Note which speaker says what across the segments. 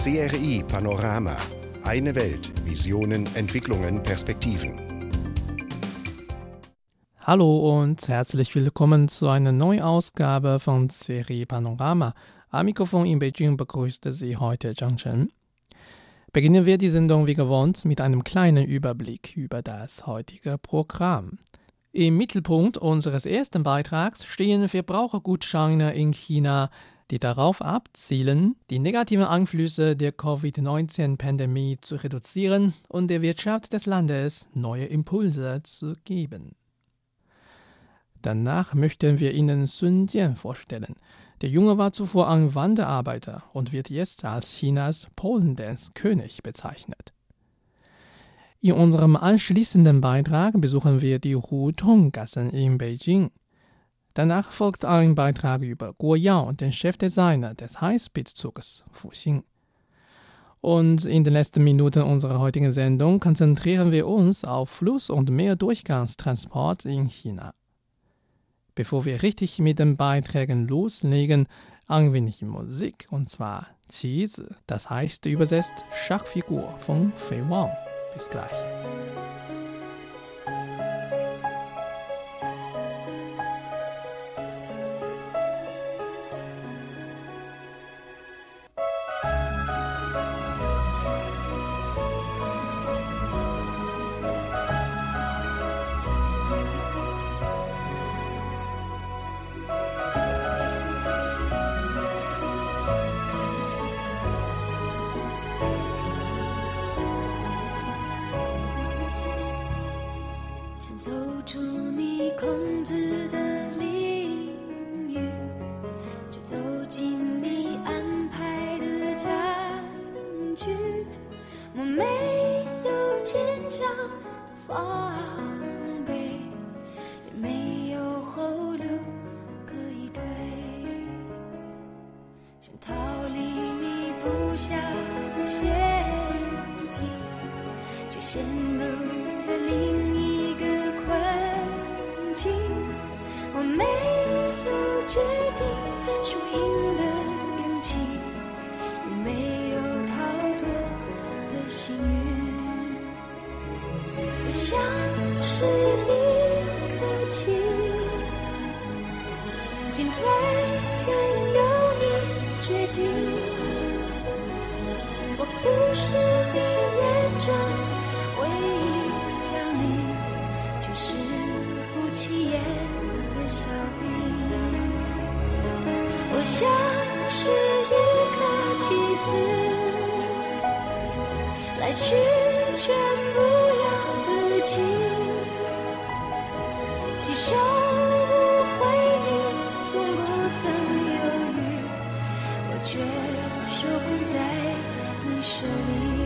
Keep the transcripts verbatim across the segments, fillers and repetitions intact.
Speaker 1: C R I Panorama. Eine Welt. Visionen, Entwicklungen, Perspektiven.
Speaker 2: Hallo und herzlich willkommen zu einer neuen Ausgabe von C R I Panorama. Am Mikrofon in Beijing begrüßte Sie heute Zhang Chen. Beginnen wir die Sendung wie gewohnt mit einem kleinen Überblick über das heutige Programm. Im Mittelpunkt unseres ersten Beitrags stehen Verbrauchergutscheine in China, die darauf abzielen, die negativen Einflüsse der Covid neunzehn Pandemie zu reduzieren und der Wirtschaft des Landes neue Impulse zu geben. Danach möchten wir Ihnen Sun Jian vorstellen. Der Junge war zuvor ein Wanderarbeiter und wird jetzt als Chinas Pole-Dance-König bezeichnet. In unserem anschließenden Beitrag besuchen wir die Hutong-Gassen in Beijing. Danach folgt ein Beitrag über Guo Yao, den Chefdesigner des Highspeed-Zuges Fuxing. Und in den letzten Minuten unserer heutigen Sendung konzentrieren wir uns auf Fluss- und Meerdurchgangstransport in China. Bevor wir richtig mit den Beiträgen loslegen, ein wenig Musik, und zwar Qi-Zi, das heißt übersetzt Schachfigur von Fei Wang. Bis gleich.
Speaker 3: 走出你控制的领域，就走进你安排的战局。我没有坚强的防备，也没有后路可以退，想逃离你布下的陷阱，却陷入了另一个困境。我没有决定输赢的勇气，也没有逃脱的幸运。我像是一颗棋，进退任由你决定。我不是你眼中唯一将领，却是不起眼的小兵。我像是一颗棋子，来去全不由自己，既收不回你，从不曾犹豫，我却手控在你手里。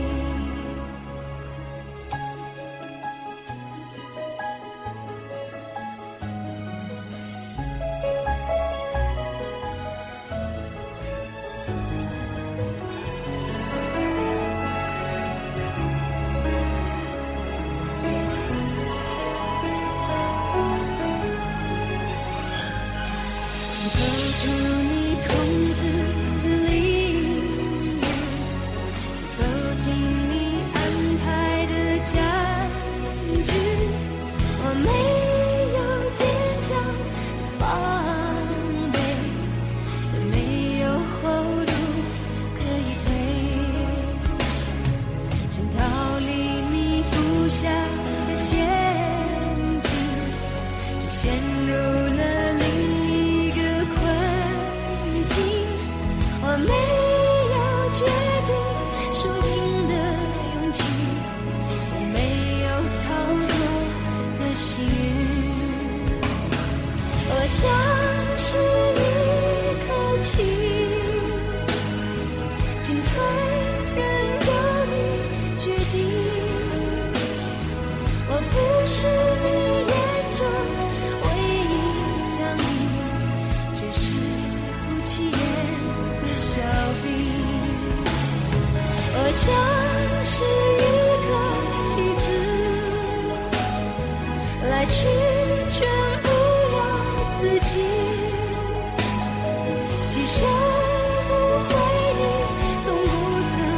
Speaker 3: 其实不回你，从不曾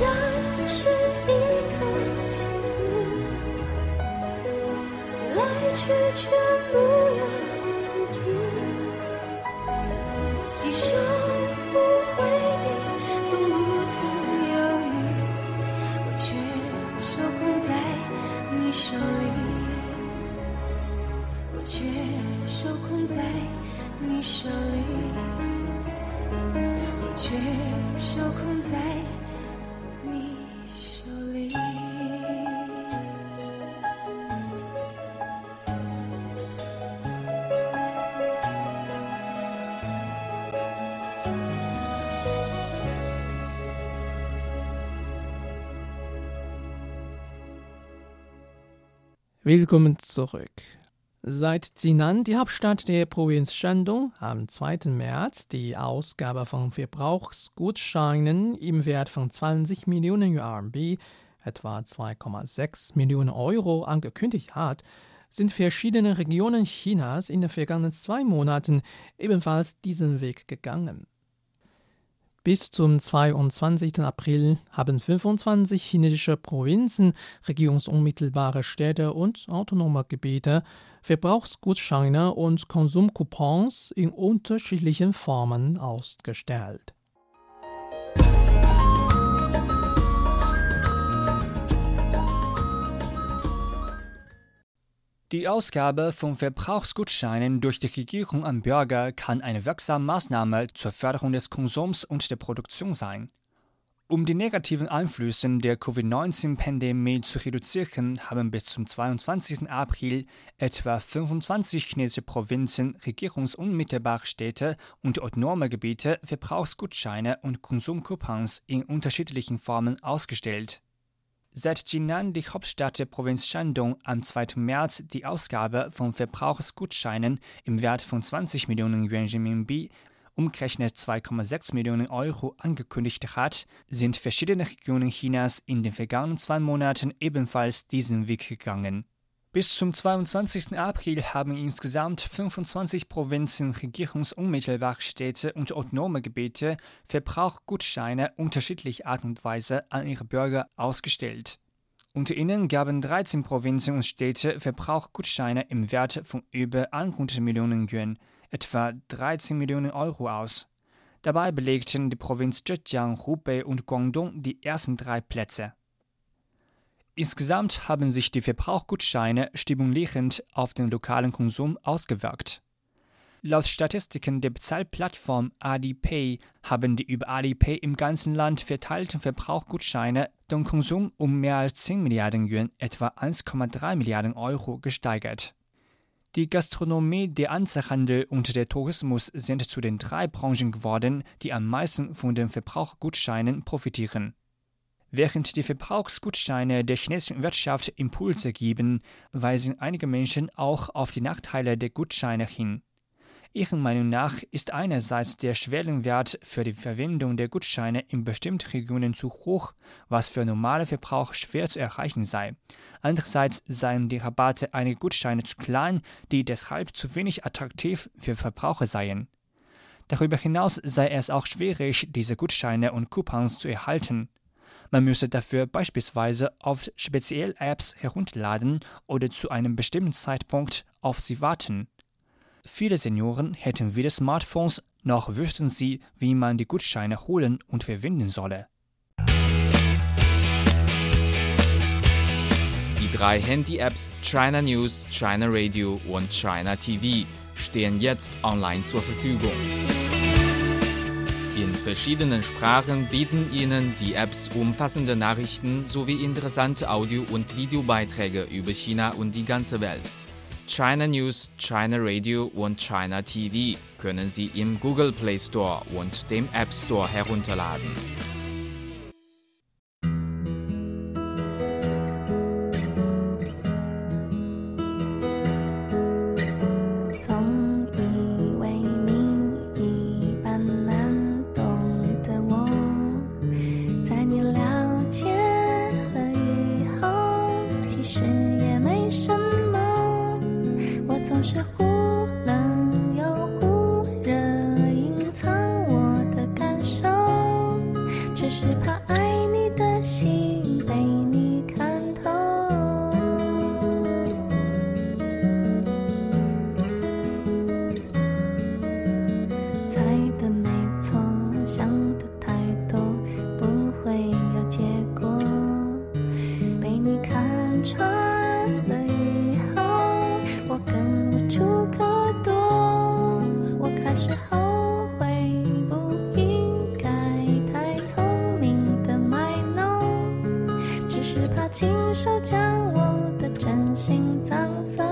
Speaker 3: 像是一颗棋子，来去全不由自己，既收不回你，总不曾犹豫，我却受控在你手里，我却受控在你手里，我却受控在你手里。
Speaker 2: Willkommen zurück. Seit Jinan, die Hauptstadt der Provinz Shandong, am zweiten März die Ausgabe von Verbrauchsgutscheinen im Wert von zwanzig Millionen R M B, etwa zwei Komma sechs Millionen Euro, angekündigt hat, sind verschiedene Regionen Chinas in den vergangenen zwei Monaten ebenfalls diesen Weg gegangen. Bis zum zweiundzwanzigsten April haben fünfundzwanzig chinesische Provinzen, regierungsunmittelbare Städte und autonome Gebiete Verbrauchsgutscheine und Konsumcoupons in unterschiedlichen Formen ausgestellt.
Speaker 4: Die Ausgabe von Verbrauchsgutscheinen durch die Regierung an Bürger kann eine wirksame Maßnahme zur Förderung des Konsums und der Produktion sein. Um die negativen Einflüsse der Covid neunzehn Pandemie zu reduzieren, haben bis zum zweiundzwanzigsten April etwa fünfundzwanzig chinesische Provinzen, regierungsunmittelbare Städte und autonome Gebiete Verbrauchsgutscheine und Konsumcoupons in unterschiedlichen Formen ausgestellt. Seit Jinan, die Hauptstadt der Provinz Shandong, am zweiten März die Ausgabe von Verbrauchsgutscheinen im Wert von zwanzig Millionen Yuan Renminbi, umgerechnet zwei Komma sechs Millionen Euro, angekündigt hat, sind verschiedene Regionen Chinas in den vergangenen zwei Monaten ebenfalls diesen Weg gegangen. Bis zum zweiundzwanzigsten April haben insgesamt fünfundzwanzig Provinzen, regierungsunmittelbare Städte und autonome Gebiete Verbrauchsgutscheine unterschiedlicher Art und Weise an ihre Bürger ausgestellt. Unter ihnen gaben dreizehn Provinzen und Städte Verbrauchsgutscheine im Wert von über hundert Millionen Yuan, etwa dreizehn Millionen Euro aus. Dabei belegten die Provinz Zhejiang, Hubei und Guangdong die ersten drei Plätze. Insgesamt haben sich die Verbrauchsgutscheine stimulierend auf den lokalen Konsum ausgewirkt. Laut Statistiken der Bezahlplattform Alipay haben die über Alipay im ganzen Land verteilten Verbrauchsgutscheine den Konsum um mehr als zehn Milliarden Yuan, etwa eins Komma drei Milliarden Euro, gesteigert. Die Gastronomie, der Einzelhandel und der Tourismus sind zu den drei Branchen geworden, die am meisten von den Verbrauchsgutscheinen profitieren. Während die Verbrauchsgutscheine der chinesischen Wirtschaft Impulse geben, weisen einige Menschen auch auf die Nachteile der Gutscheine hin. Ihrer Meinung nach ist einerseits der Schwellenwert für die Verwendung der Gutscheine in bestimmten Regionen zu hoch, was für normale Verbraucher schwer zu erreichen sei. Andererseits seien die Rabatte einiger Gutscheine zu klein, die deshalb zu wenig attraktiv für Verbraucher seien. Darüber hinaus sei es auch schwierig, diese Gutscheine und Coupons zu erhalten. Man müsse dafür beispielsweise auf spezielle Apps herunterladen oder zu einem bestimmten Zeitpunkt auf sie warten. Viele Senioren hätten weder Smartphones, noch wüssten sie, wie man die Gutscheine holen und verwenden solle.
Speaker 5: Die drei Handy-Apps China News, China Radio und China T V stehen jetzt online zur Verfügung. In verschiedenen Sprachen bieten Ihnen die Apps umfassende Nachrichten sowie interessante Audio- und Videobeiträge über China und die ganze Welt. China News, China Radio und China T V können Sie im Google Play Store und dem App Store herunterladen.
Speaker 3: 手将我的真心葬送。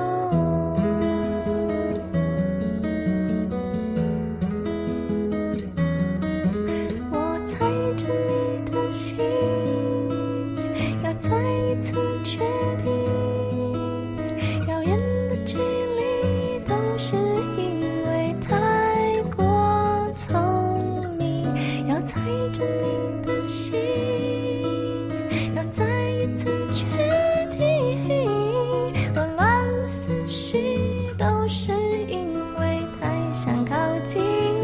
Speaker 3: 我猜着你的心，要再一次确定，遥远的距离都是因为太过聪明。要猜着你的心，要再一次确定，乱乱的思绪都是因为太想靠近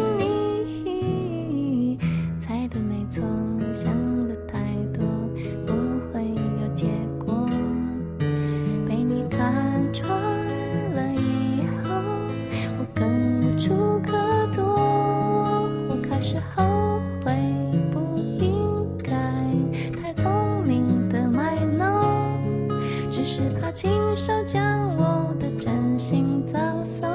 Speaker 3: 你。猜的没错，想的太多，不会有结果。被你看穿了以后，我更无处可躲。我开始后悔不应该太聪明的卖弄，只是怕亲手将我的真心葬送。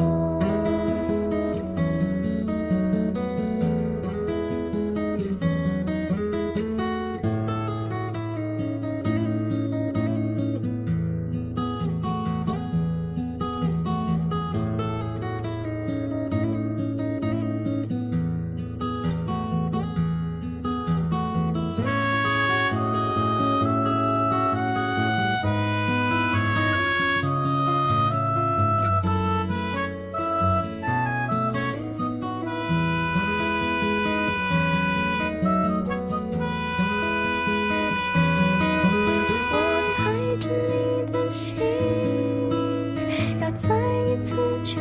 Speaker 3: 我猜着你的心，要再一次确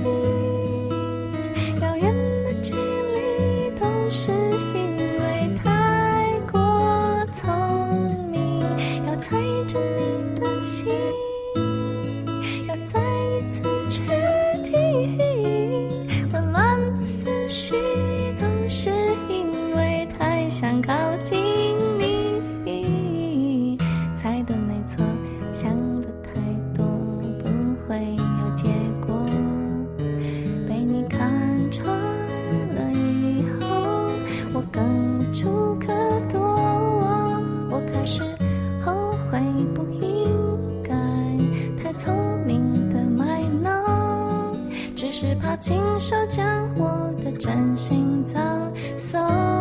Speaker 3: 定，遥远的距离都是因为太过聪明。要猜着你的心，要再一次确定，乱乱的思绪都是因为太想靠近你。猜的没错，想的太多，不会有结果。被你看穿了以后，我更无处可躲。我开始后悔不应该太聪明的卖弄，只是怕亲手将我的真心葬送。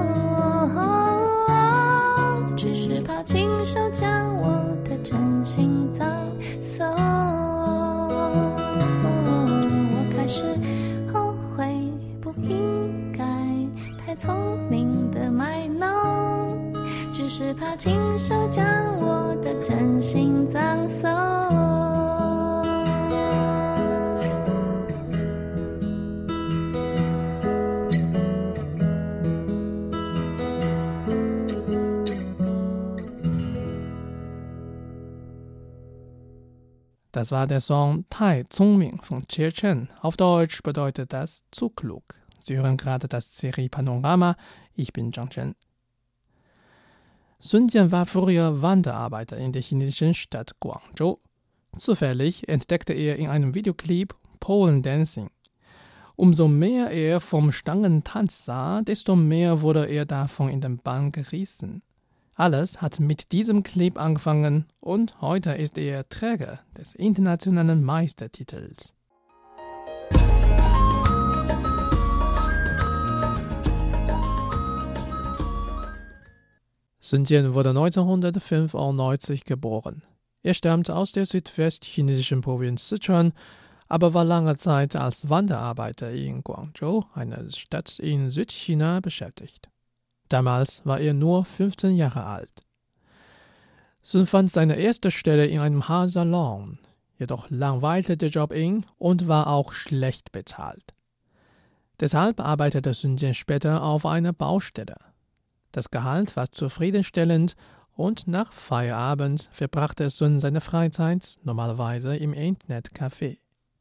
Speaker 3: 只是怕亲手将我的真心葬送。我开始后悔不应该太聪明的卖弄，只是怕亲手将我的真心葬送。
Speaker 2: Das war der Song Tai Zong Ming von Jie Chen. Auf Deutsch bedeutet das zu klug. Sie hören gerade das Serie Panorama. Ich bin Zhang Chen. Sun Jian war früher Wanderarbeiter in der chinesischen Stadt Guangzhou. Zufällig entdeckte er in einem Videoclip Polen Dancing. Umso mehr er vom Stangentanz sah, desto mehr wurde er davon in den Bann gerissen. Alles hat mit diesem Clip angefangen und heute ist er Träger des internationalen Meistertitels. Sun Jian wurde neunzehnhundertfünfundneunzig geboren. Er stammte aus der südwestchinesischen Provinz Sichuan, aber war lange Zeit als Wanderarbeiter in Guangzhou, einer Stadt in Südchina, beschäftigt. Damals war er nur fünfzehn Jahre alt. Sun fand seine erste Stelle in einem Haarsalon, jedoch langweilte der Job ihn und war auch schlecht bezahlt. Deshalb arbeitete Sun Jian später auf einer Baustelle. Das Gehalt war zufriedenstellend und nach Feierabend verbrachte Sun seine Freizeit normalerweise im Internetcafé.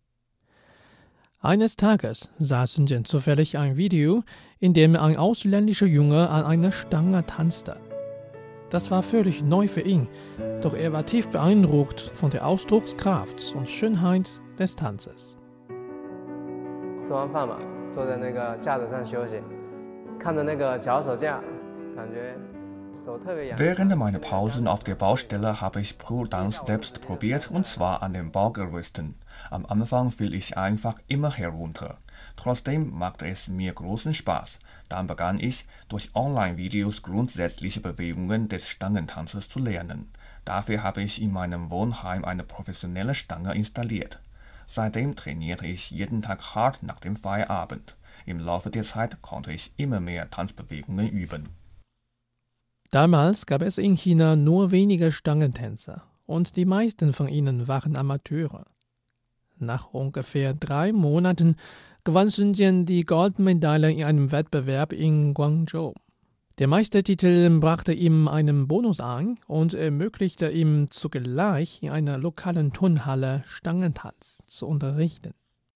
Speaker 2: Eines Tages sah Sun Jian zufällig ein Video, in dem ein ausländischer Junge an einer Stange tanzte. Das war völlig neu für ihn, doch er war tief beeindruckt von der Ausdruckskraft und Schönheit des Tanzes.
Speaker 6: 吃完饭嘛，坐在那个架子上休息，看着那个脚手架，感觉
Speaker 7: Während meiner Pausen auf der Baustelle habe ich Pole Dance selbst probiert, und zwar an den Baugerüsten. Am Anfang fiel ich einfach immer herunter. Trotzdem machte es mir großen Spaß. Dann begann ich, durch Online-Videos grundsätzliche Bewegungen des Stangentanzes zu lernen. Dafür habe ich in meinem Wohnheim eine professionelle Stange installiert. Seitdem trainierte ich jeden Tag hart nach dem Feierabend. Im Laufe der Zeit konnte ich immer mehr Tanzbewegungen üben.
Speaker 2: Damals gab es in China nur wenige Stangentänzer und die meisten von ihnen waren Amateure. Nach ungefähr drei Monaten gewann Sun Jian die Goldmedaille in einem Wettbewerb in Guangzhou. Der Meistertitel brachte ihm einen Bonus ein und ermöglichte ihm zugleich in einer lokalen Turnhalle Stangentanz zu unterrichten.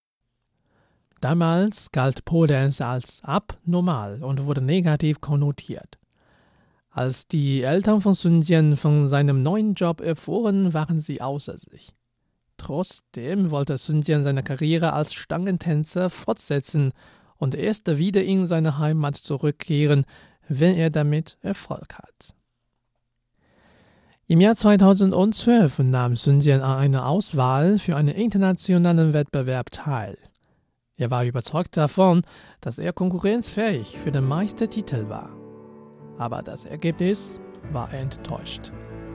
Speaker 2: Damals galt Pole Dance als abnormal und wurde negativ konnotiert. Als die Eltern von Sun Jian von seinem neuen Job erfuhren, waren sie außer sich. Trotzdem wollte Sun Jian seine Karriere als Stangentänzer fortsetzen und erst wieder in seine Heimat zurückkehren, wenn er damit Erfolg hat. Im Jahr zweitausendzwölf nahm Sun Jian an einer Auswahl für einen internationalen Wettbewerb teil. Er war überzeugt davon, dass er konkurrenzfähig für den Meistertitel war. Aber das Ergebnis war enttäuscht.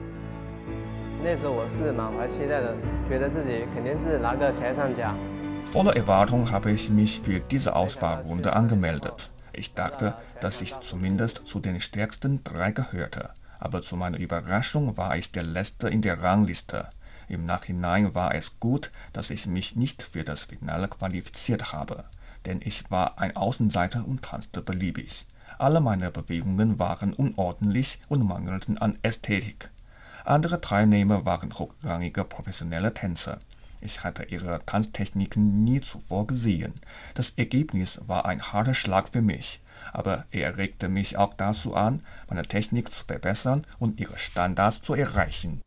Speaker 7: Voller Erwartung habe ich mich für diese Auswahlrunde angemeldet. Ich dachte, dass ich zumindest zu den stärksten drei gehörte. Aber zu meiner Überraschung war ich der Letzte in der Rangliste. Im Nachhinein war es gut, dass ich mich nicht für das Finale qualifiziert habe. Denn ich war ein Außenseiter und tanzte beliebig. Alle meine Bewegungen waren unordentlich und mangelten an Ästhetik. Andere Teilnehmer waren hochrangige professionelle Tänzer. Ich hatte ihre Tanztechniken nie zuvor gesehen. Das Ergebnis war ein harter Schlag für mich, aber er regte mich auch dazu an, meine Technik zu verbessern und ihre Standards zu erreichen.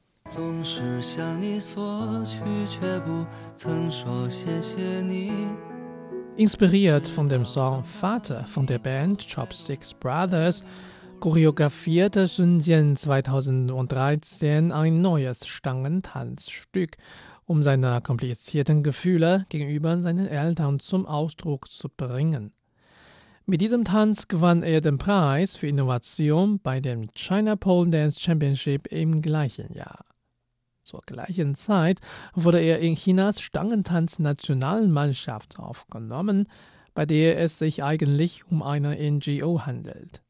Speaker 2: Inspiriert von dem Song Vater von der Band Chopsticks Brothers choreografierte Sun Jian zweitausenddreizehn ein neues Stangentanzstück, um seine komplizierten Gefühle gegenüber seinen Eltern zum Ausdruck zu bringen. Mit diesem Tanz gewann er den Preis für Innovation bei dem China Pole Dance Championship im gleichen Jahr. Zur gleichen Zeit wurde er in Chinas Stangentanz-Nationalmannschaft aufgenommen, bei der es sich eigentlich um eine N G O handelt.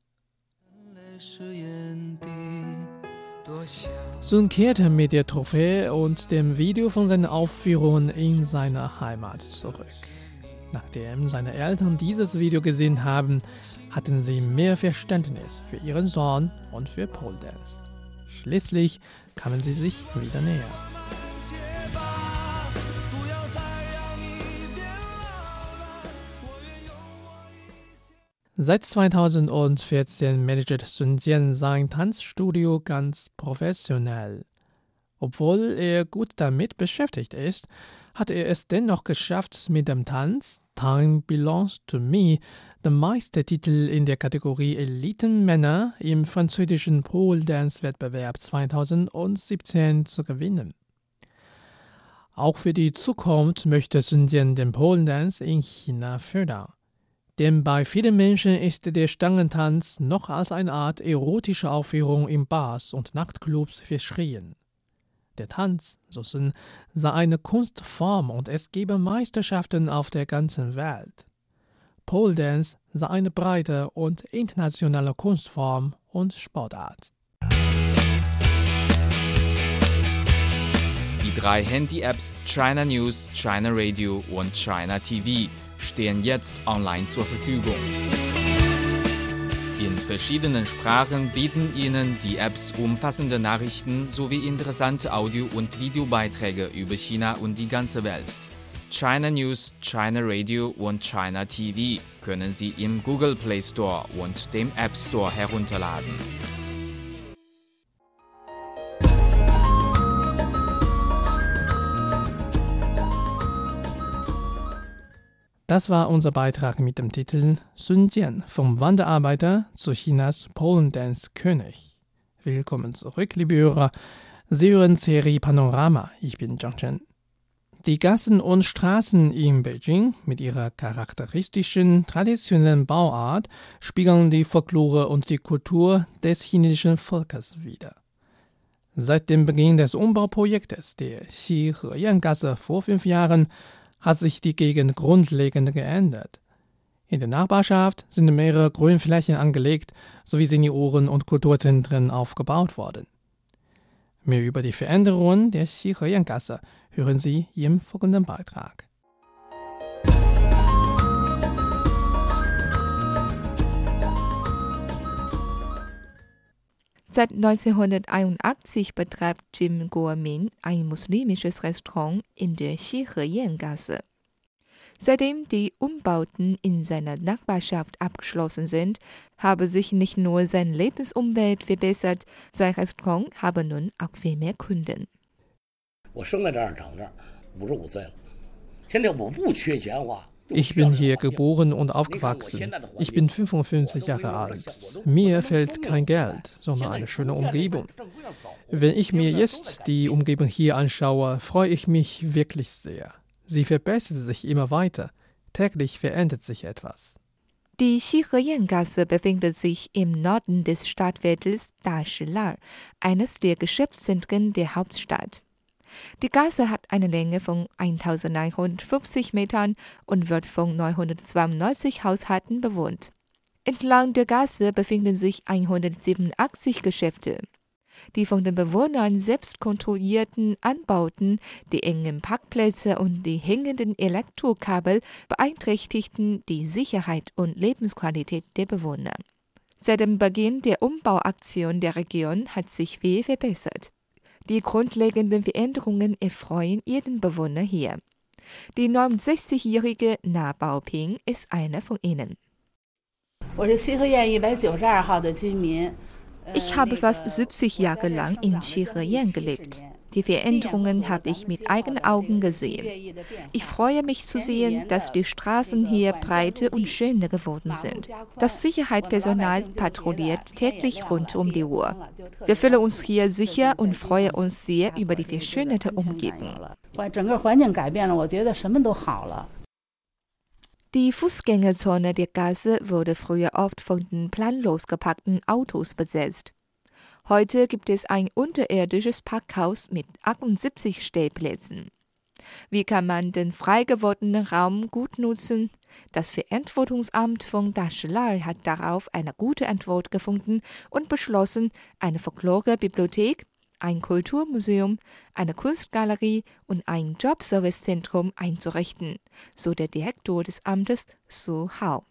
Speaker 2: Sun kehrte mit der Trophäe und dem Video von seiner Aufführung in seine Heimat zurück. Nachdem seine Eltern dieses Video gesehen haben, hatten sie mehr Verständnis für ihren Sohn und für Pole Dance. Schließlich kamen sie sich wieder näher. Seit zweitausendvierzehn managt Sun Jian sein Tanzstudio ganz professionell. Obwohl er gut damit beschäftigt ist, hat er es dennoch geschafft, mit dem Tanz Time Belongs to Me den Meistertitel in der Kategorie Elitenmänner im französischen Pole Dance Wettbewerb zweitausendsiebzehn zu gewinnen. Auch für die Zukunft möchte Sun Jian den Pole Dance in China fördern. Denn bei vielen Menschen ist der Stangentanz noch als eine Art erotische Aufführung in Bars und Nachtclubs verschrien. Der Tanz, so Sun, sei eine Kunstform und es gebe Meisterschaften auf der ganzen Welt. Pole Dance sei eine breite und internationale Kunstform und Sportart.
Speaker 5: Die drei Handy-Apps China News, China Radio und China T V stehen jetzt online zur Verfügung. In verschiedenen Sprachen bieten Ihnen die Apps umfassende Nachrichten sowie interessante Audio- und Videobeiträge über China und die ganze Welt. China News, China Radio und China T V können Sie im Google Play Store und dem App Store herunterladen.
Speaker 2: Das war unser Beitrag mit dem Titel Sun Jian, vom Wanderarbeiter zu Chinas Polendance-König. Willkommen zurück, liebe Hörer. Sie hören Serie Panorama. Ich bin Zhang Chen. Die Gassen und Straßen in Beijing mit ihrer charakteristischen, traditionellen Bauart spiegeln die Folklore und die Kultur des chinesischen Volkes wider. Seit dem Beginn des Umbauprojektes der Xi-He-Yan-Gasse vor fünf Jahren hat sich die Gegend grundlegend geändert. In der Nachbarschaft sind mehrere Grünflächen angelegt sowie Senioren- und Kulturzentren aufgebaut worden. Mehr über die Veränderungen der Xi-He-Yan-Gasse hören Sie im folgenden Beitrag.
Speaker 8: Seit neunzehnhunderteinundachtzig betreibt Jim Guomin ein muslimisches Restaurant in der Xi-He-Yan-Gasse. Seitdem die Umbauten in seiner Nachbarschaft abgeschlossen sind, habe sich nicht nur seine Lebensumwelt verbessert, sein Restaurant habe nun auch viel mehr Kunden.
Speaker 2: Ich bin hier geboren und aufgewachsen. Ich bin fünfundfünfzig Jahre alt. Mir fehlt kein Geld, sondern eine schöne Umgebung. Wenn ich mir jetzt die Umgebung hier anschaue, freue ich mich wirklich sehr. Sie verbessert sich immer weiter. Täglich verändert sich etwas.
Speaker 8: Die Xi-He-Yan-Gasse befindet sich im Norden des Stadtviertels Dashilar, eines der Geschäftszentren der Hauptstadt. Die Gasse hat eine Länge von eintausendneunhundertfünfzig Metern und wird von neunhundertzweiundneunzig Haushalten bewohnt. Entlang der Gasse befinden sich hundertsiebenundachtzig Geschäfte. Die von den Bewohnern selbst kontrollierten Anbauten, die engen Parkplätze und die hängenden Elektrokabel beeinträchtigten die Sicherheit und Lebensqualität der Bewohner. Seit dem Beginn der Umbauaktion der Region hat sich viel verbessert. Die grundlegenden Veränderungen erfreuen jeden Bewohner hier. Die neunundsechzigjährige Na Baoping ist einer von ihnen. Ich habe fast siebzig Jahre lang in Xi-He-Yan gelebt. Die Veränderungen habe ich mit eigenen Augen gesehen. Ich freue mich zu sehen, dass die Straßen hier breiter und schöner geworden sind. Das Sicherheitspersonal patrouilliert täglich rund um die Uhr. Wir fühlen uns hier sicher und freuen uns sehr über die verschönerte Umgebung. Die Fußgängerzone der Gasse wurde früher oft von den planlos geparkten Autos besetzt. Heute gibt es ein unterirdisches Parkhaus mit achtundsiebzig Stellplätzen. Wie kann man den frei gewordenen Raum gut nutzen? Das Verantwortungsamt von Dashilar hat darauf eine gute Antwort gefunden und beschlossen, eine Folklore-Bibliothek, ein Kulturmuseum, eine Kunstgalerie und ein Jobservicezentrum einzurichten, so der Direktor des Amtes Su Hao.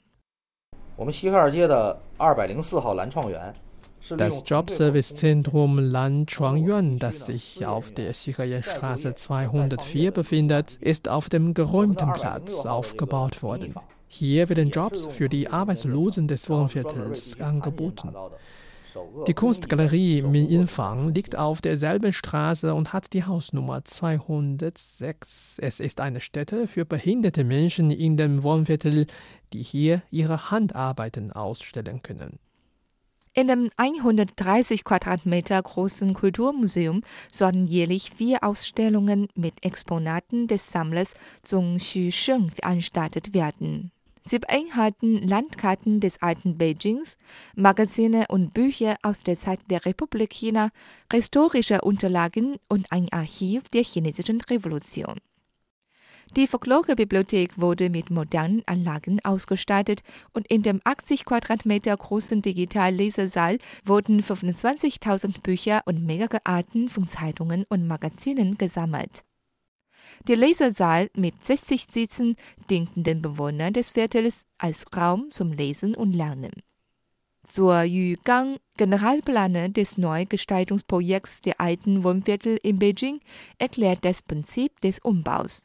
Speaker 2: Das Jobservicezentrum Lan Chuangyuan, das sich auf der Xi-He-Yan-Straße zweihundertvier befindet, ist auf dem geräumten Platz aufgebaut worden. Hier werden Jobs für die Arbeitslosen des Wohnviertels angeboten. Die Kunstgalerie Min Yinfang liegt auf derselben Straße und hat die Hausnummer zweihundertsechs. Es ist eine Stätte für behinderte Menschen in dem Wohnviertel, die hier ihre Handarbeiten ausstellen können.
Speaker 8: In dem hundertdreißig Quadratmeter großen Kulturmuseum sollen jährlich vier Ausstellungen mit Exponaten des Sammlers Zhong Xusheng veranstaltet werden. Sie beinhalten Landkarten des alten Beijings, Magazine und Bücher aus der Zeit der Republik China, historische Unterlagen und ein Archiv der chinesischen Revolution. Die Folklore-Bibliothek wurde mit modernen Anlagen ausgestattet und in dem achtzig Quadratmeter großen Digitallesesaal wurden fünfundzwanzigtausend Bücher und mehrere Arten von Zeitungen und Magazinen gesammelt. Der Lesesaal mit sechzig Sitzen dienten den Bewohnern des Viertels als Raum zum Lesen und Lernen. Zuo Yugang, Generalplaner des Neugestaltungsprojekts der alten Wohnviertel in Beijing, erklärt das Prinzip des Umbaus.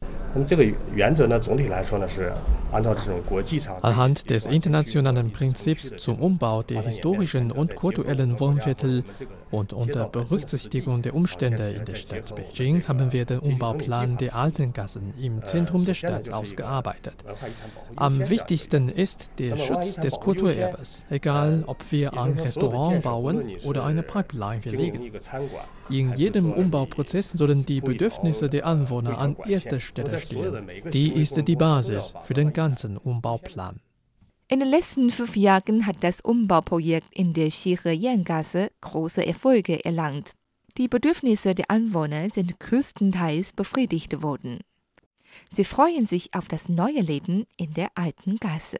Speaker 2: Anhand des internationalen Prinzips zum Umbau der historischen und kulturellen Wohnviertel Und unter Berücksichtigung der Umstände in der Stadt Beijing haben wir den Umbauplan der alten Gassen im Zentrum der Stadt ausgearbeitet. Am wichtigsten ist der Schutz des Kulturerbes, egal ob wir ein Restaurant bauen oder eine Pipeline verlegen. In jedem Umbauprozess sollen die Bedürfnisse der Anwohner an erster Stelle stehen. Die ist die Basis für den ganzen Umbauplan.
Speaker 8: In den letzten fünf Jahren hat das Umbauprojekt in der Xirhe-Yan-Gasse große Erfolge erlangt. Die Bedürfnisse der Anwohner sind größtenteils befriedigt worden. Sie freuen sich auf das neue Leben in der alten Gasse.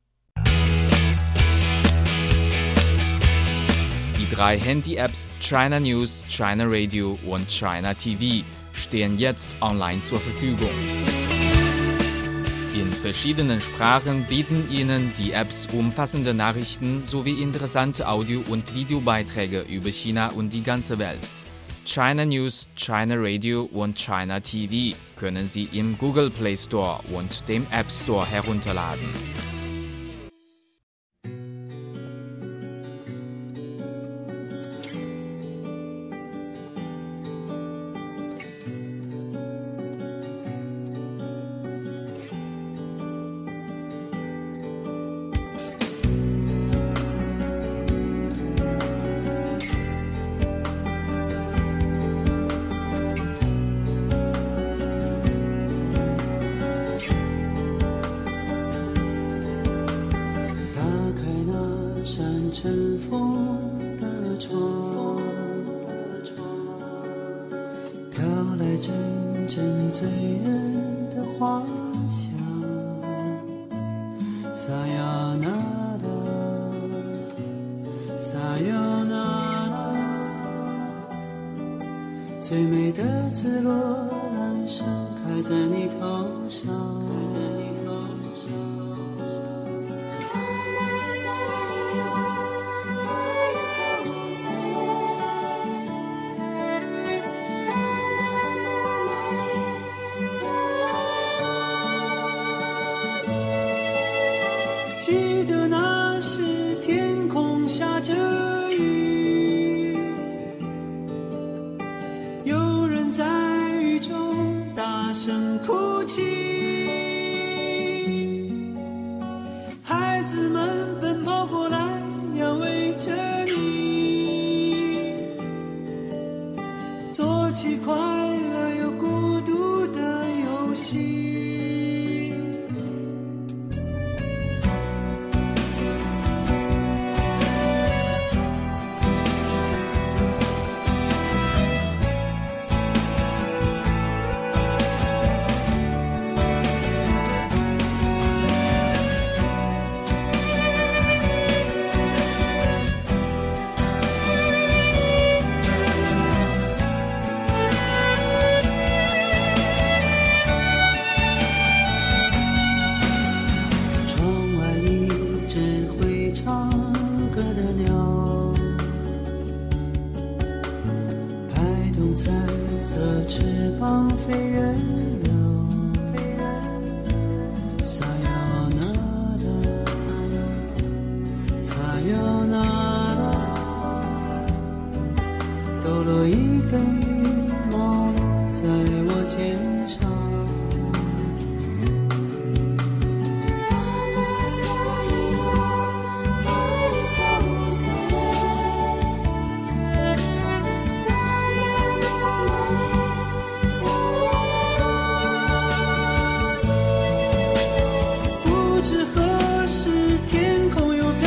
Speaker 5: Die drei Handy-Apps China News, China Radio und China T V stehen jetzt online zur Verfügung. In verschiedenen Sprachen bieten Ihnen die Apps umfassende Nachrichten sowie interessante Audio- und Videobeiträge über China und die ganze Welt. China News, China Radio und China T V können Sie im Google Play Store und dem App Store herunterladen.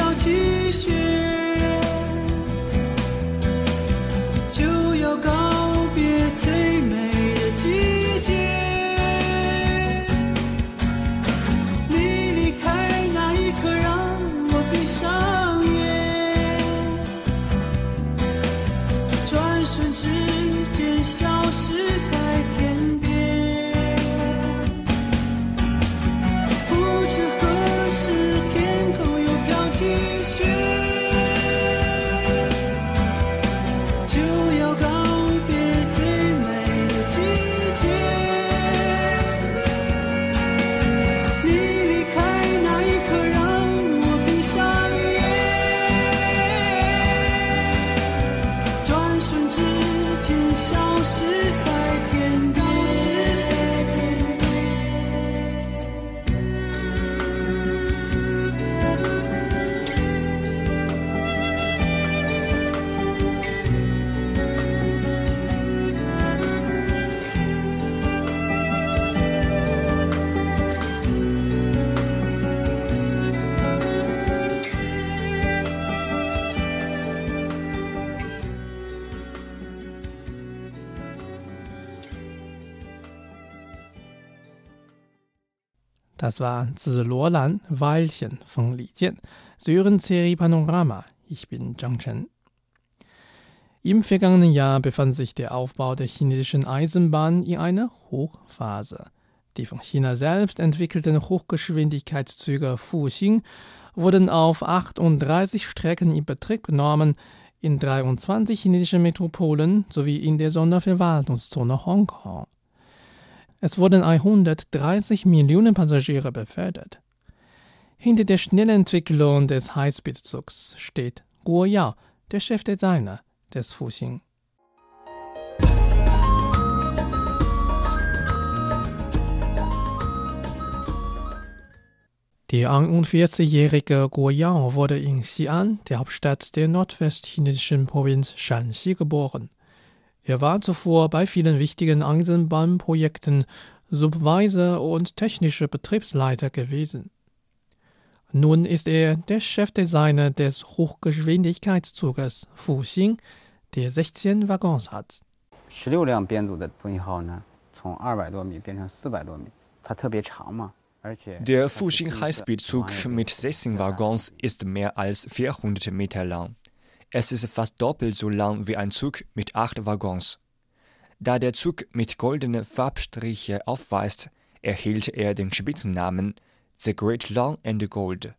Speaker 9: go
Speaker 2: Das war Ziluolan Weilchen von Li Jian. Sie hören Serie Panorama. Ich bin Zhang Chen. Im vergangenen Jahr befand sich der Aufbau der chinesischen Eisenbahn in einer Hochphase. Die von China selbst entwickelten Hochgeschwindigkeitszüge Fuxing wurden auf achtunddreißig Strecken in Betrieb genommen, in dreiundzwanzig chinesischen Metropolen sowie in der Sonderverwaltungszone Hongkong. Es wurden hundertdreißig Millionen Passagiere befördert. Hinter der schnellen Entwicklung des Highspeed-Zugs steht Guo Yao, der Chefdesigner des Fuxing. Der einundvierzigjährige Guo Yao wurde in Xi'an, der Hauptstadt der nordwestchinesischen Provinz Shanxi, geboren. Er war zuvor bei vielen wichtigen Eisenbahnprojekten Supervisor und technischer Betriebsleiter gewesen. Nun ist er der Chefdesigner des Hochgeschwindigkeitszuges Fuxing, der sechzehn Waggons hat.
Speaker 4: Der Fuxing Highspeed-Zug mit sechzehn Waggons ist mehr als vierhundert Meter lang. Es ist fast doppelt so lang wie ein Zug mit acht Waggons. Da der Zug mit goldenen Farbstriche aufweist, erhielt er den Spitzennamen The Great Long and Gold.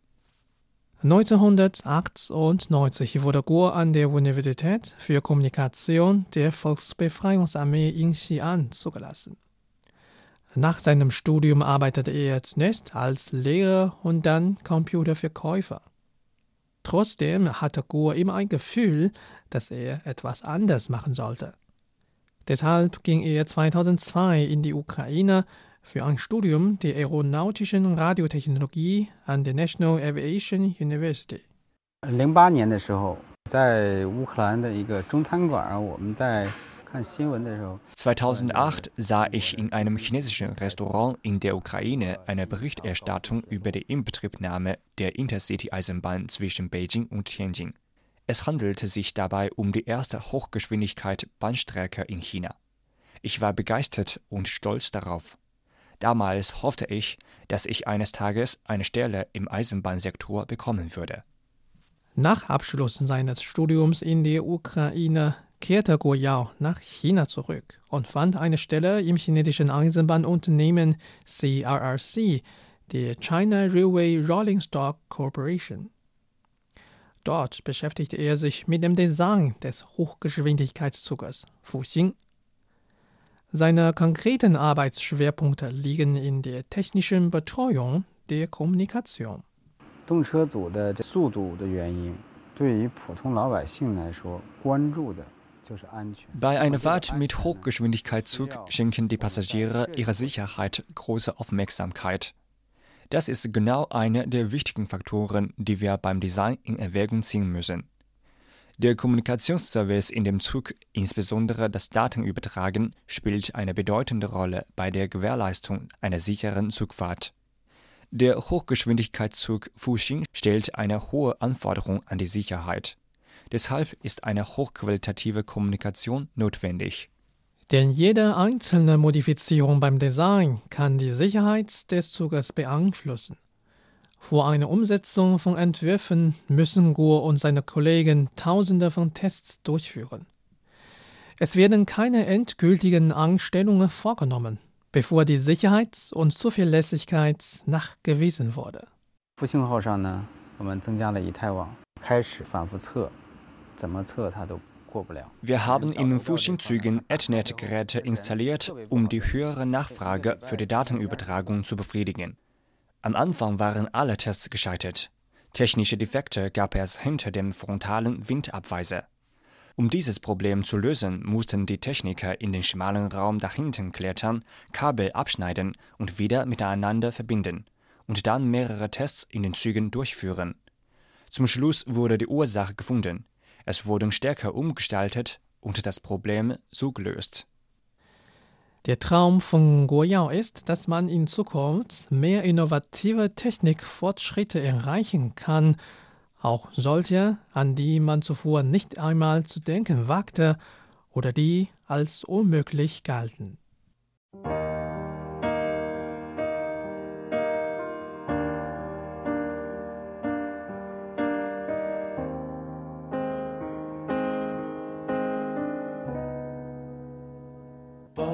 Speaker 2: neunzehnhundertachtundneunzig wurde Guo an der Universität für Kommunikation der Volksbefreiungsarmee in Xi'an zugelassen. Nach seinem Studium arbeitete er zunächst als Lehrer und dann Computerverkäufer. Trotzdem hatte Guo immer ein Gefühl, dass er etwas anders machen sollte. Deshalb ging er zweitausendzwei in die Ukraine für ein Studium der aeronautischen Radiotechnologie an der National Aviation University.
Speaker 4: zweitausendacht sah ich in einem chinesischen Restaurant in der Ukraine eine Berichterstattung über die Inbetriebnahme der Intercity-Eisenbahn zwischen Beijing und Tianjin. Es handelte sich dabei um die erste Hochgeschwindigkeit-Bahnstrecke in China. Ich war begeistert und stolz darauf. Damals hoffte ich, dass ich eines Tages eine Stelle im Eisenbahnsektor bekommen würde.
Speaker 2: Nach Abschluss seines Studiums in der Ukraine kehrte Guo Yao nach China zurück und fand eine Stelle im chinesischen Eisenbahnunternehmen C R R C, der China Railway Rolling Stock Corporation. Dort beschäftigte er sich mit dem Design des Hochgeschwindigkeitszuges Fuxing. Seine konkreten Arbeitsschwerpunkte liegen in der technischen Betreuung der Kommunikation.
Speaker 4: Bei einer Fahrt mit Hochgeschwindigkeitszug schenken die Passagiere ihrer Sicherheit große Aufmerksamkeit. Das ist genau einer der wichtigen Faktoren, die wir beim Design in Erwägung ziehen müssen. Der Kommunikationsservice in dem Zug, insbesondere das Datenübertragen, spielt eine bedeutende Rolle bei der Gewährleistung einer sicheren Zugfahrt. Der Hochgeschwindigkeitszug Fuxing stellt eine hohe Anforderung an die Sicherheit. Deshalb ist eine hochqualitative Kommunikation notwendig.
Speaker 2: Denn jede einzelne Modifizierung beim Design kann die Sicherheit des Zuges beeinflussen. Vor einer Umsetzung von Entwürfen müssen Guo und seine Kollegen Tausende von Tests durchführen. Es werden keine endgültigen Einstellungen vorgenommen, bevor die Sicherheit und Zuverlässigkeit nachgewiesen wurde.
Speaker 4: Wir haben in den Fuxing-Zügen Ethernet-Geräte installiert, um die höhere Nachfrage für die Datenübertragung zu befriedigen. Am Anfang waren alle Tests gescheitert. Technische Defekte gab es hinter dem frontalen Windabweiser. Um dieses Problem zu lösen, mussten die Techniker in den schmalen Raum dahinten klettern, Kabel abschneiden und wieder miteinander verbinden und dann mehrere Tests in den Zügen durchführen. Zum Schluss wurde die Ursache gefunden. Es wurden Stecker umgestaltet und das Problem so gelöst.
Speaker 2: Der Traum von Guo Yao ist, dass man in Zukunft mehr innovative Technikfortschritte erreichen kann, auch solche, an die man zuvor nicht einmal zu denken wagte oder die als unmöglich galten.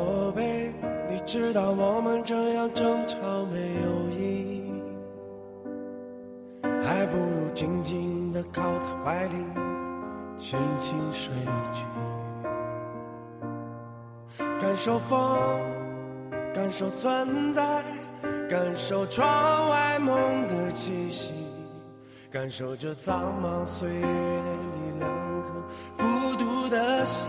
Speaker 9: 宝贝，你知道我们这样争吵没有意义，还不如静静地靠在怀里，轻轻睡去，感受风，感受存在，感受窗外梦的气息，感受这苍茫岁月里两颗孤独的心，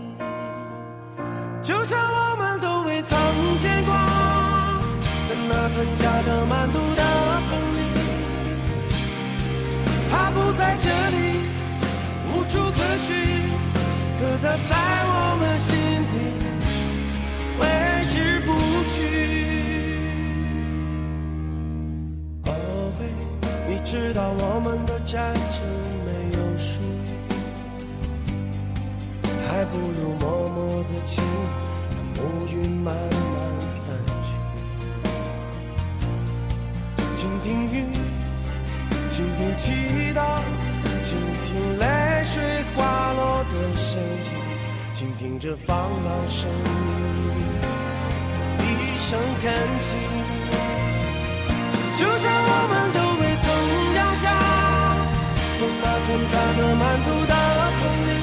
Speaker 9: 就像我们都未曾见过的那春夏的满肚的风里，它不在这里，无处可寻，可它在我们心底挥之不去。宝贝，你知道我们的战争没有输赢，还不如默默的亲，让乌云慢慢散去。倾听雨，倾听祈祷，倾听泪水滑落的声音，倾听这放浪声音的一声恳请，就像我们都未曾掉下从那春夏的满肚的风里，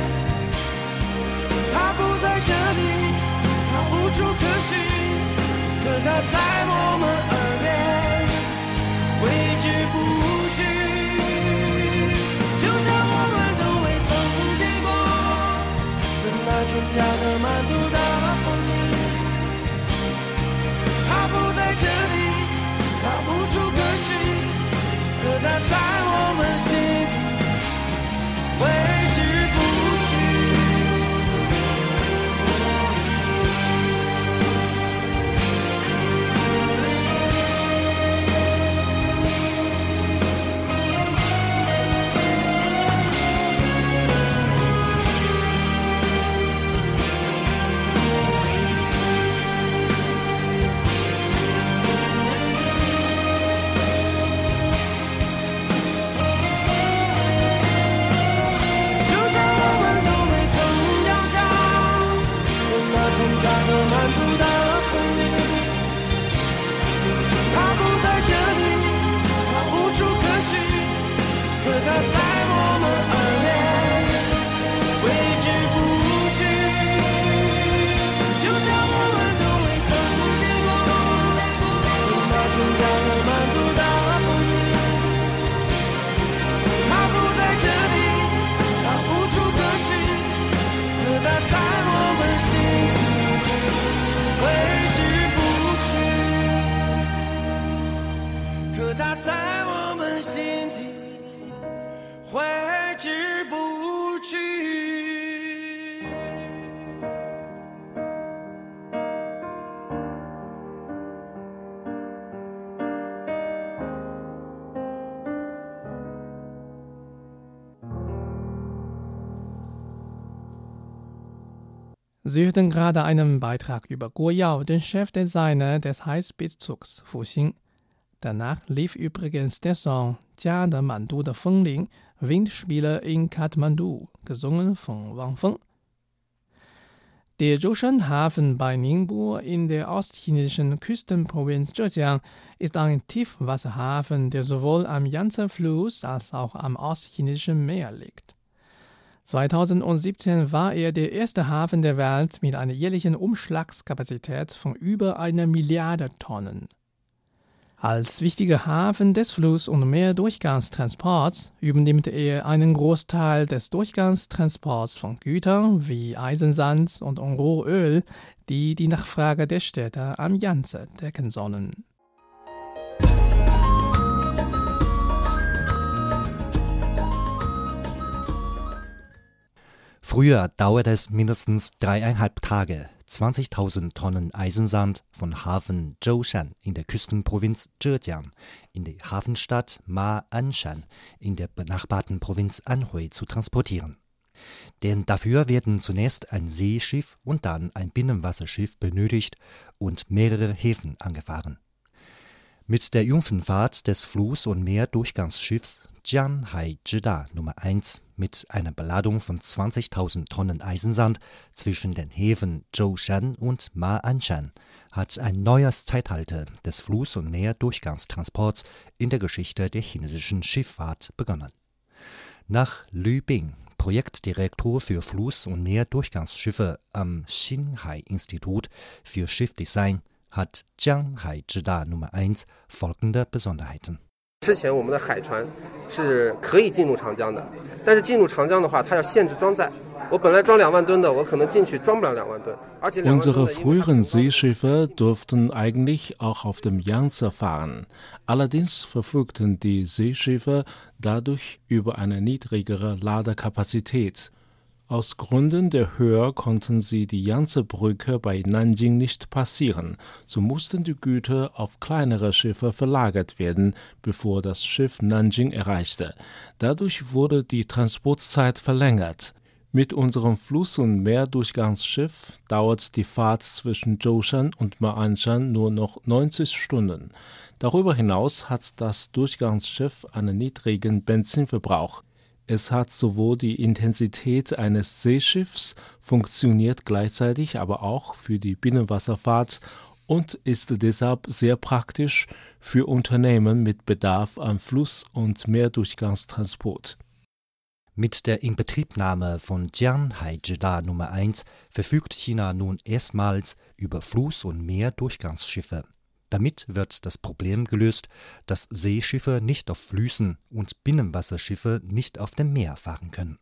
Speaker 9: 它不在这里，它无处可寻，可它在我们耳边挥之不去，就像我们都未曾见过的那春夏的满肚的风里，它不在这里，它无处可寻，可它在我们心底挥之不去。
Speaker 2: Sie hörten gerade einen Beitrag über Guo Yao, den Chefdesigner des Highspeed-Zugs Fuxing. Danach lief übrigens der Song Jia de Mandu de Fengling, Windspiele in Kathmandu, gesungen von Wang Feng. Der Zhoushan-Hafen bei Ningbo in der ostchinesischen Küstenprovinz Zhejiang ist ein Tiefwasserhafen, der sowohl am Yangtze-Fluss als auch am ostchinesischen Meer liegt. zweitausendsiebzehn war er der erste Hafen der Welt mit einer jährlichen Umschlagskapazität von über einer Milliarde Tonnen. Als wichtiger Hafen des Fluss- und Meerdurchgangstransports übernimmt er einen Großteil des Durchgangstransports von Gütern wie Eisensand und Rohöl, die die Nachfrage der Städte am Yangtze decken sollen.
Speaker 10: Früher dauerte es mindestens dreieinhalb Tage, zwanzigtausend Tonnen Eisensand von Hafen Zhoushan in der Küstenprovinz Zhejiang in die Hafenstadt Ma-Anshan in der benachbarten Provinz Anhui zu transportieren. Denn dafür werden zunächst ein Seeschiff und dann ein Binnenwasserschiff benötigt und mehrere Häfen angefahren. Mit der Jungfernfahrt des Fluss- und Meerdurchgangsschiffs Jianhai Zhida Nummer eins mit einer Beladung von zwanzigtausend Tonnen Eisensand zwischen den Häfen Zhoushan und Ma'anshan hat ein neues Zeitalter des Fluss- und Meerdurchgangstransports in der Geschichte der chinesischen Schifffahrt begonnen. Nach Lü Bing, Projektdirektor für Fluss- und Meerdurchgangsschiffe am Xinhai-Institut für Schiffdesign, hat Jianhai Zhida Nummer eins folgende Besonderheiten.
Speaker 6: 之前我们的海船是可以进入长江的，但是进入长江的话，它要限制装载。我本来装两万吨的，我可能进去装不了两万吨，而且
Speaker 11: Unsere früheren Seeschiffe durften eigentlich auch auf dem Yangtze fahren. Allerdings verfügten die Seeschiffe dadurch über eine niedrigere Ladekapazität. Aus Gründen der Höhe konnten sie die Yangtze-Brücke bei Nanjing nicht passieren, so mussten die Güter auf kleinere Schiffe verlagert werden, bevor das Schiff Nanjing erreichte. Dadurch wurde die Transportzeit verlängert. Mit unserem Fluss- und Meerdurchgangsschiff dauert die Fahrt zwischen Zhoushan und Ma'anshan nur noch neunzig Stunden. Darüber hinaus hat das Durchgangsschiff einen niedrigen Benzinverbrauch. Es hat sowohl die Intensität eines Seeschiffs, funktioniert gleichzeitig aber auch für die Binnenwasserfahrt und ist deshalb sehr praktisch für Unternehmen mit Bedarf an Fluss- und Meerdurchgangstransport.
Speaker 10: Mit der Inbetriebnahme von Jianhai Zhida Nummer eins verfügt China nun erstmals über Fluss- und Meerdurchgangsschiffe. Damit wird das Problem gelöst, dass Seeschiffe nicht auf Flüssen und Binnenwasserschiffe nicht auf dem Meer fahren können.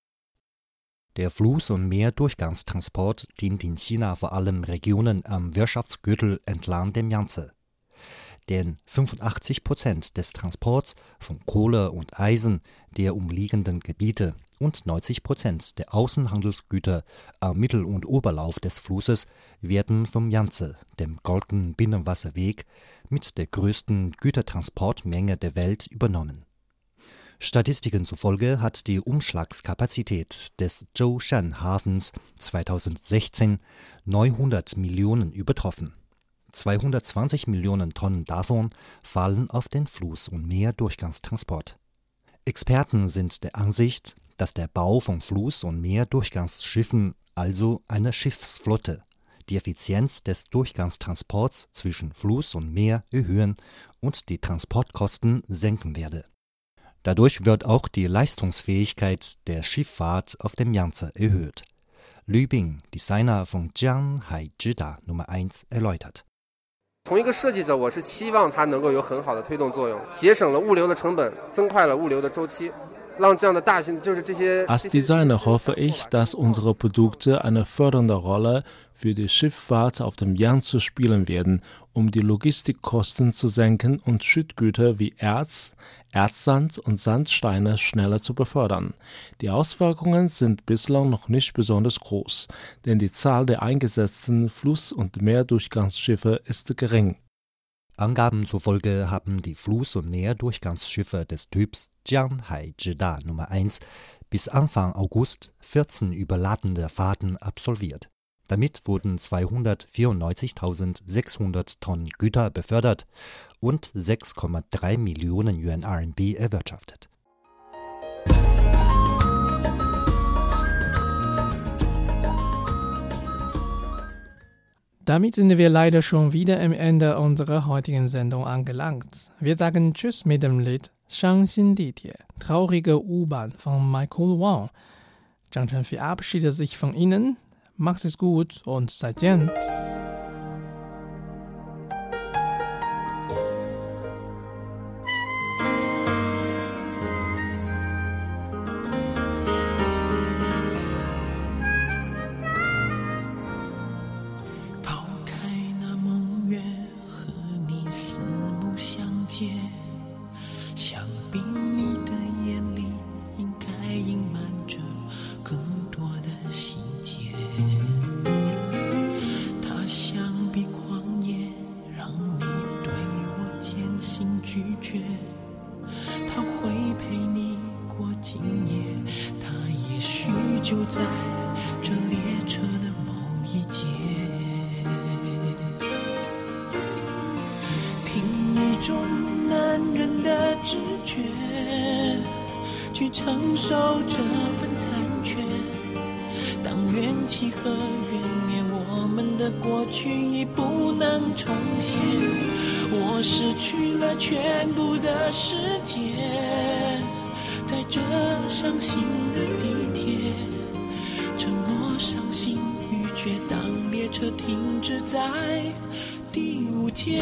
Speaker 10: Der Fluss- und Meerdurchgangstransport dient in China vor allem Regionen am Wirtschaftsgürtel entlang dem Yangtze. Denn fünfundachtzig Prozent des Transports von Kohle und Eisen der umliegenden Gebiete und neunzig Prozent der Außenhandelsgüter am Mittel- und Oberlauf des Flusses werden vom Yangtze, dem Goldenen Binnenwasserweg, mit der größten Gütertransportmenge der Welt übernommen. Statistiken zufolge hat die Umschlagskapazität des Zhoushan-Hafens zweitausendsechzehn neunhundert Millionen übertroffen. zweihundertzwanzig Millionen Tonnen davon fallen auf den Fluss- und Meerdurchgangstransport. Experten sind der Ansicht, dass der Bau von Fluss- und Meerdurchgangsschiffen, also einer Schiffsflotte, die Effizienz des Durchgangstransports zwischen Fluss und Meer erhöhen und die Transportkosten senken werde. Dadurch wird auch die Leistungsfähigkeit der Schifffahrt auf dem Yangtze erhöht. Lü Bing, Designer von Jianhai Zhida Nummer eins, erläutert.
Speaker 6: 从一个设计者，我是期望它能够有很好的推动作用，节省了物流的成本，增快了物流的周期。
Speaker 11: Als Designer hoffe ich, dass unsere Produkte eine fördernde Rolle für die Schifffahrt auf dem Yangtze spielen werden, um die Logistikkosten zu senken und Schüttgüter wie Erz, Erzsand und Sandsteine schneller zu befördern. Die Auswirkungen sind bislang noch nicht besonders groß, denn die Zahl der eingesetzten Fluss- und Meerdurchgangsschiffe ist gering.
Speaker 10: Angaben zufolge haben die Fluss- und Meerdurchgangsschiffe des Typs Jianhai Zhida Nummer eins bis Anfang August vierzehn überladene Fahrten absolviert. Damit wurden zweihundertvierundneunzigtausendsechshundert Tonnen Güter befördert und sechs Komma drei Millionen Yuan R M B erwirtschaftet.
Speaker 2: Damit sind wir leider schon wieder am Ende unserer heutigen Sendung angelangt. Wir sagen Tschüss mit dem Lied Shangxin Ditie, traurige U-Bahn von Michael Wang. Zhang Chen verabschiedet sich von Ihnen. Macht es gut und 再见.
Speaker 12: 去承受这份残缺。当怨气和怨灭，我们的过去已不能重现。我失去了全部的世界，在这伤心的地铁，沉默、伤心欲绝。当列车停止在第五天。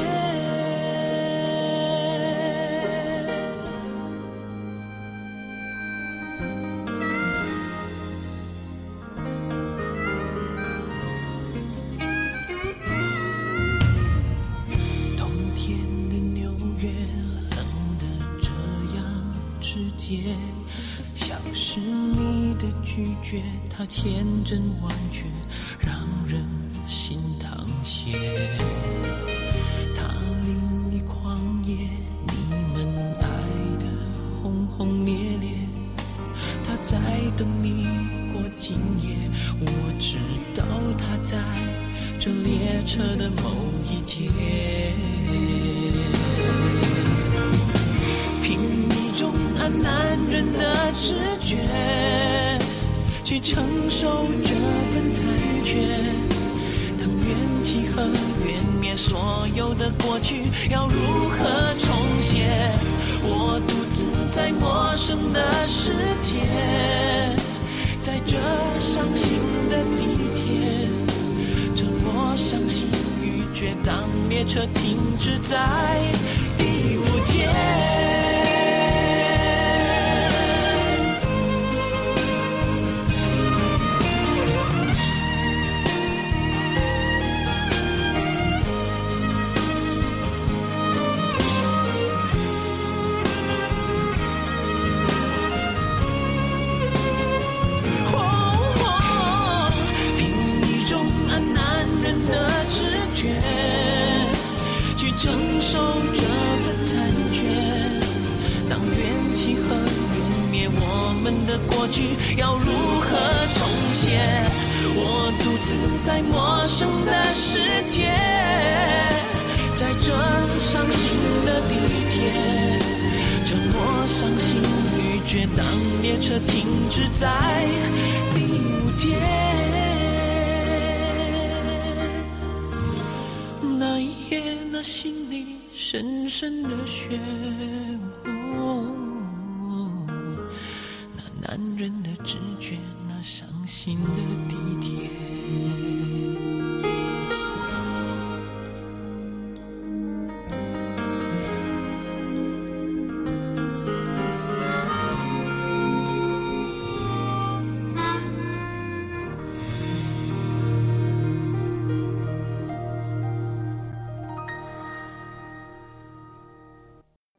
Speaker 12: 像是你的拒绝，它天真完全，让人心淌血。它淋漓狂野，你们爱的轰轰烈烈，他在等你过今夜。我知道他在这列车的某一节，凭一种按男人的直觉去承受这份残缺。当怨气和怨灭，所有的过去要如何重写？我独自在陌生的世界，在这伤心的地铁，沉默、伤心欲绝。当列车停止在第五节，承受这份残缺。当怨气和怨灭，我们的过去要如何重写？我独自在陌生的世界，在这伤心的地铁，沉默、伤心欲绝。当列车停止在第五节，那一夜，那心里深深的漩涡，那男人的直觉，那伤心的地铁。